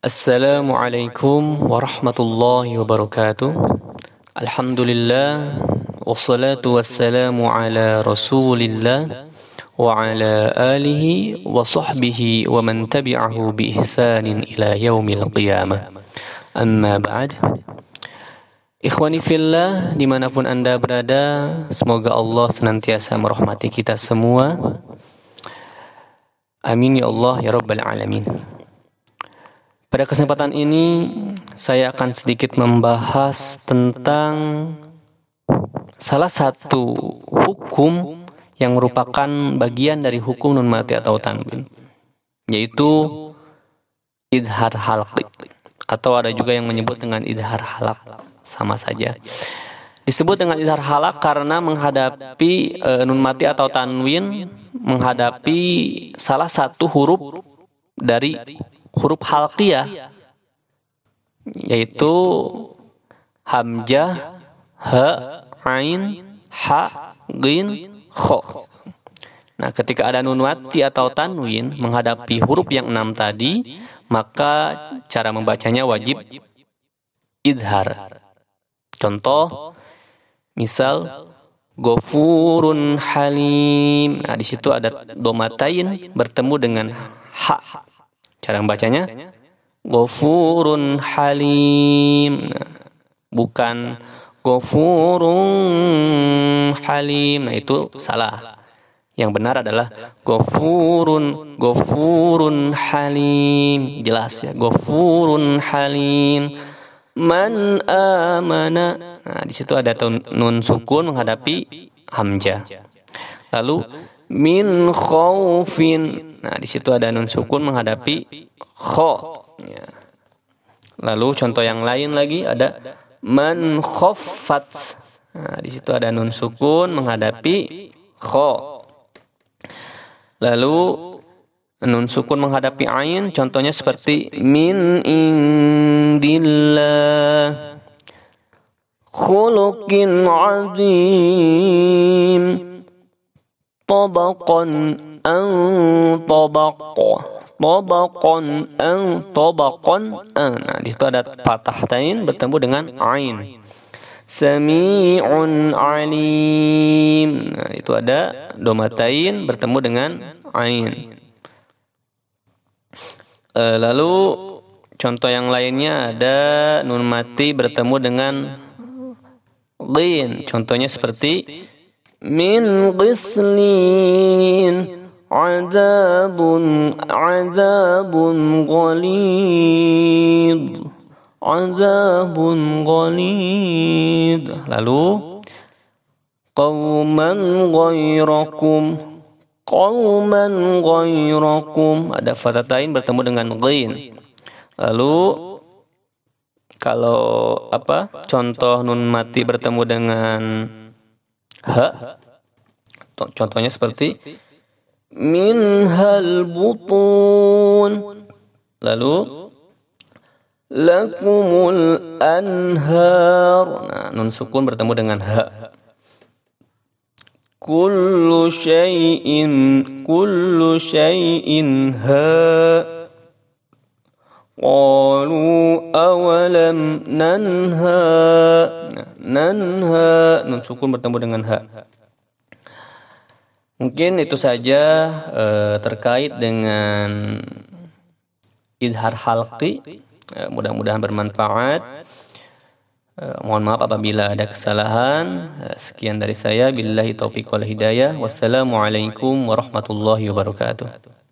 Assalamualaikum warahmatullahi wabarakatuh. Alhamdulillah wassalatu wassalamu ala Rasulillah wa ala alihi wa sahbihi wa man tabi'ahu bi ihsanin ila yaumil qiyamah. Amma ba'd. Ikhwani fillah, dimanapun Anda berada, semoga Allah senantiasa merahmati kita semua. Amin ya Allah ya Rabbal Alamin. Pada kesempatan ini, saya akan sedikit membahas tentang salah satu hukum yang merupakan bagian dari hukum nun mati atau tanwin, yaitu idhar halqi, atau ada juga yang menyebut dengan idhar halak, sama saja. Disebut dengan idhar halak karena menghadapi nun mati atau tanwin, menghadapi salah satu huruf dari huruf halqiyah, yaitu hamzah, ha, ain, ha, ghin, kho. Nah, ketika ada nun mati atau tanwin menghadapi huruf yang 6 tadi, maka cara membacanya wajib idhar. Contoh, misal Ghafurun Halim. Nah, di situ ada domatain bertemu dengan ha. Cara membacanya Ghafurun Halim. Nah, bukan Ghafurun Halim. Nah, itu salah. Yang benar adalah Ghafurun Halim. Jelas ya, Ghafurun Halim. Man amana. Nah, di situ ada nun sukun menghadapi hamzah. Lalu min khaufin. Nah, di situ ada nun sukun menghadapi kho. Ya. Lalu contoh yang lain lagi ada man khaffat. Nah, di situ ada nun sukun menghadapi kho. Lalu nun sukun menghadapi ain, contohnya seperti min indillah khuluqin azim tabaqan an tabaqan an. Nah, di situ ada fathah tain bertemu dengan ain. Sami'un alim. Nah, itu ada domatain bertemu dengan ain. Lalu contoh yang lainnya ada nun mati bertemu dengan ghin. Contohnya seperti min ghislin Azabun ghalid. Lalu qauman ghairakum. Ada fathatain bertemu dengan ghin. Lalu kalau contoh nun mati bertemu dengan ha, contohnya seperti minhal butun. Lalu lakumul anhar. Nah, nun sukun bertemu dengan ha. Kullu syai'in ha. Qalu awalam nanha. Nah, nanha, nun sukun bertemu dengan ha. Mungkin itu saja terkait dengan idhar halqi. Mudah-mudahan bermanfaat. Mohon maaf apabila ada kesalahan. Sekian dari saya. Billahi taufiq wal hidayah. Wassalamualaikum warahmatullahi wabarakatuh.